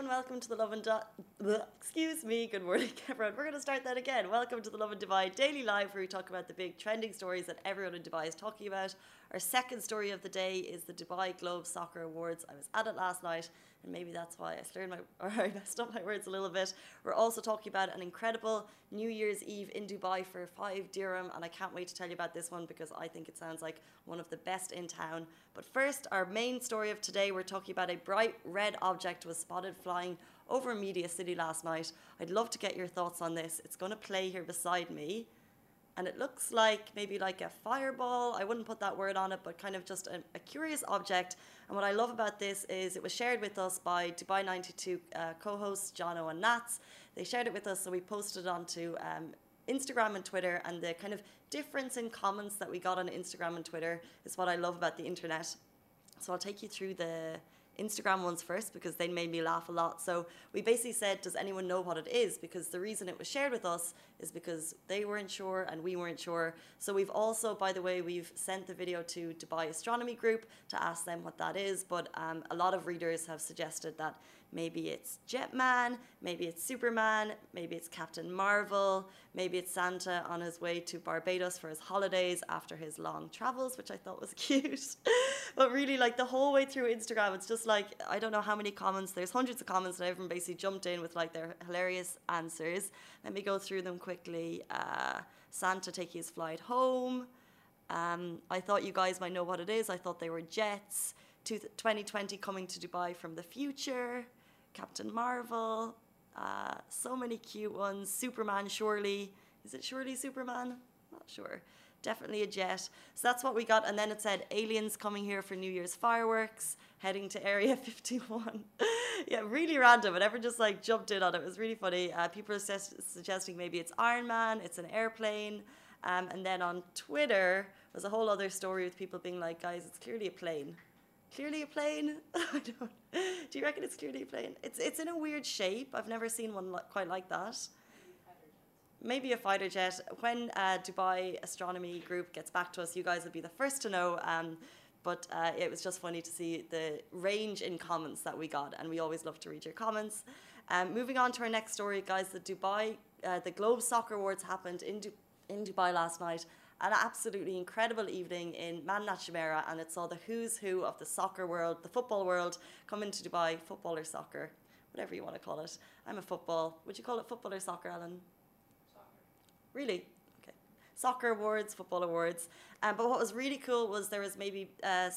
everyone. Welcome to the excuse me. Good morning, everyone. We're going to start that again. Welcome to the Lovin Dubai Daily Live, where we talk about the big trending stories that everyone in Dubai is talking about. Our second story of the day is the Dubai Globe Soccer Awards. I was at it last night, and maybe that's why I messed up my words a little bit. We're also talking about an incredible New Year's Eve in Dubai for 5 dirham, and I can't wait to tell you about this one because I think it sounds like one of the best in town. But first, our main story of today, we're talking about a bright red object was spotted flying over Media City last night. I'd love to get your thoughts on this. It's going to play here beside me. And it looks like maybe like a fireball. I wouldn't put that word on it, but kind of just a curious object. And what I love about this is it was shared with us by Dubai 92 co-hosts Jono and Nats. They shared it with us, so we posted it onto Instagram and Twitter. And the kind of difference in comments that we got on Instagram and Twitter is what I love about the internet. So I'll take you through the Instagram ones first because they made me laugh a lot. So we basically said, does anyone know what it is? Because the reason it was shared with us is because they weren't sure and we weren't sure. So we've also, by the way, we've sent the video to Dubai Astronomy Group to ask them what that is. But a lot of readers have suggested that maybe it's Jetman, maybe it's Superman, maybe it's Captain Marvel, maybe it's Santa on his way to Barbados for his holidays after his long travels, which I thought was cute. But really, like the whole way through Instagram, it's just like, I don't know how many comments, there's hundreds of comments and everyone basically jumped in with like their hilarious answers. Let me go through them quickly. Santa taking his flight home. I thought you guys might know what it is. I thought they were jets. 2020 coming to Dubai from the future. Captain Marvel. So many cute ones. Superman, surely. Is it surely Superman? Not sure. Definitely a jet. So that's what we got. And then it said aliens coming here for New Year's fireworks, heading to Area 51. Yeah, really random. And everyone just like jumped in on it. It was really funny. People are suggesting maybe it's Iron Man, it's an airplane. And then on Twitter was a whole other story with people being like, guys, it's clearly a plane. Clearly a plane? I don't. Do you reckon it's clearly a plane? It's in a weird shape. I've never seen one quite like that. Maybe a fighter jet. When Dubai Astronomy Group gets back to us, you guys will be the first to know. But it was just funny to see the range in comments that we got, and we always love to read your comments. Moving on to our next story, guys. The Globe Soccer Awards happened in Dubai last night. An absolutely incredible evening in Madinat Jumeirah, and it saw the who's who of the soccer world, the football world, come into Dubai. Football or soccer, whatever you want to call it. I'm a football. Would you call it football or soccer, Alan? Really? Okay. Soccer awards, football awards. But what was really cool was there was maybe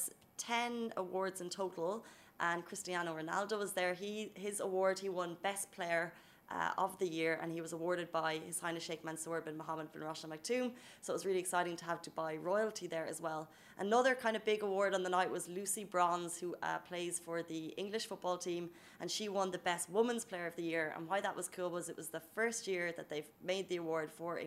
10 awards in total, and Cristiano Ronaldo was there. His award, he won Best Player of the year, and he was awarded by His Highness Sheikh Mansour bin Mohammed bin Rashid Al Maktoum. So it was really exciting to have Dubai royalty there as well. Another kind of big award on the night was Lucy Bronze, who plays for the English football team, and she won the Best Women's Player of the Year. And why that was cool was it was the first year that they've made the award for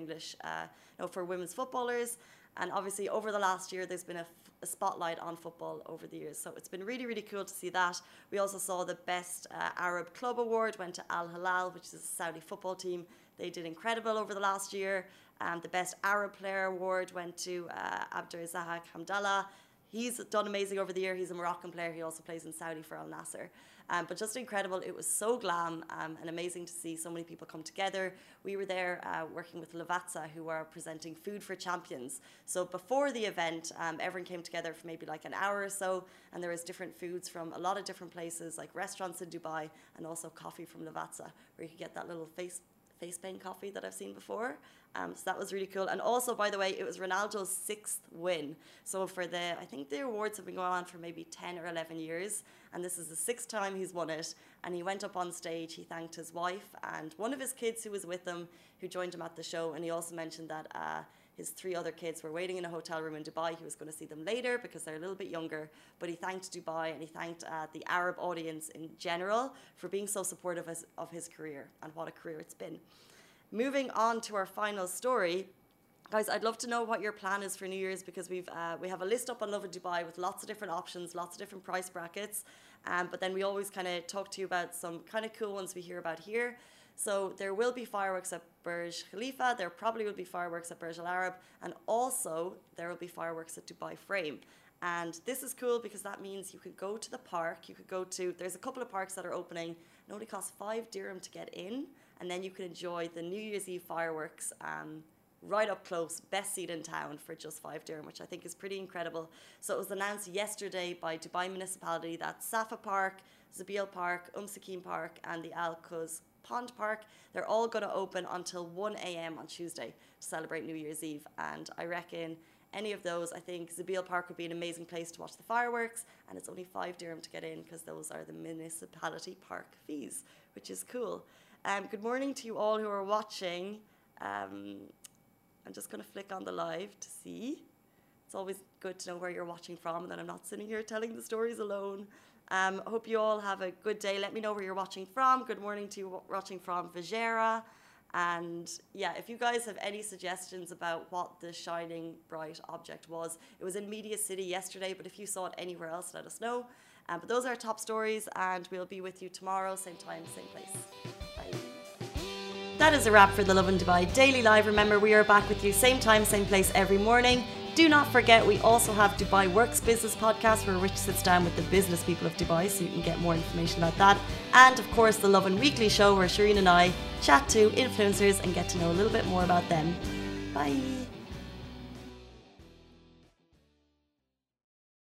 for women's footballers. And obviously over the last year, there's been a spotlight on football over the years. So it's been really, really cool to see that. We also saw the Best Arab Club Award went to Al Hilal, which is a Saudi football team. They did incredible over the last year. The Best Arab Player Award went to Abdurazak Hamdallah. He's done amazing over the year. He's a Moroccan player. He also plays in Saudi for Al Nasser. But just incredible. It was so glam and amazing to see so many people come together. We were there working with Lavazza, who are presenting Food for Champions. So before the event, everyone came together for maybe like an hour or so, and there was different foods from a lot of different places, like restaurants in Dubai, and also coffee from Lavazza, where you could get that little face paint coffee that I've seen before. So that was really cool. And also, by the way, it was Ronaldo's 6th win. So I think the awards have been going on for maybe 10 or 11 years. And this is the 6th time he's won it. And he went up on stage, he thanked his wife and one of his kids who was with him, who joined him at the show. And he also mentioned that his 3 other kids were waiting in a hotel room in Dubai. He was going to see them later because they're a little bit younger. But he thanked Dubai and he thanked the Arab audience in general for being so supportive of his career, and what a career it's been. Moving on to our final story. Guys, I'd love to know what your plan is for New Year's, because we have a list up on Lovin Dubai with lots of different options, lots of different price brackets. But then we always kind of talk to you about some kind of cool ones we hear about here. So there will be fireworks at Burj Khalifa. There probably will be fireworks at Burj Al Arab. And also there will be fireworks at Dubai Frame. And this is cool because that means you could go to the park, there's a couple of parks that are opening, it only costs 5 dirham to get in, and then you can enjoy the New Year's Eve fireworks right up close, best seat in town for just 5 dirham, which I think is pretty incredible. So it was announced yesterday by Dubai Municipality that Safa Park, Zabeel Park, Sakim Park and the Al Quoz Pond Park, they're all going to open until 1 a.m. on Tuesday to celebrate New Year's Eve. And I reckon any of those, I think Zabeel Park would be an amazing place to watch the fireworks, and it's only 5 dirham to get in because those are the municipality park fees, which is cool. Good morning to you all who are watching. I'm just going to flick on the live to see. It's always good to know where you're watching from and that I'm not sitting here telling the stories alone. Hope you all have a good day. Let me know where you're watching from. Good morning to you watching from Fujairah. And yeah, if you guys have any suggestions about what the shining bright object was, it was in Media City yesterday, but if you saw it anywhere else, let us know. But those are our top stories, and we'll be with you tomorrow, same time, same place. Bye. That is a wrap for the Lovin Dubai Daily Live. Remember, we are back with you same time, same place every morning. Do not forget, we also have Dubai Works Business Podcast, where Rich sits down with the business people of Dubai, so you can get more information about that. And of course, the Lovin Weekly Show, where Shireen and I chat to influencers and get to know a little bit more about them. Bye.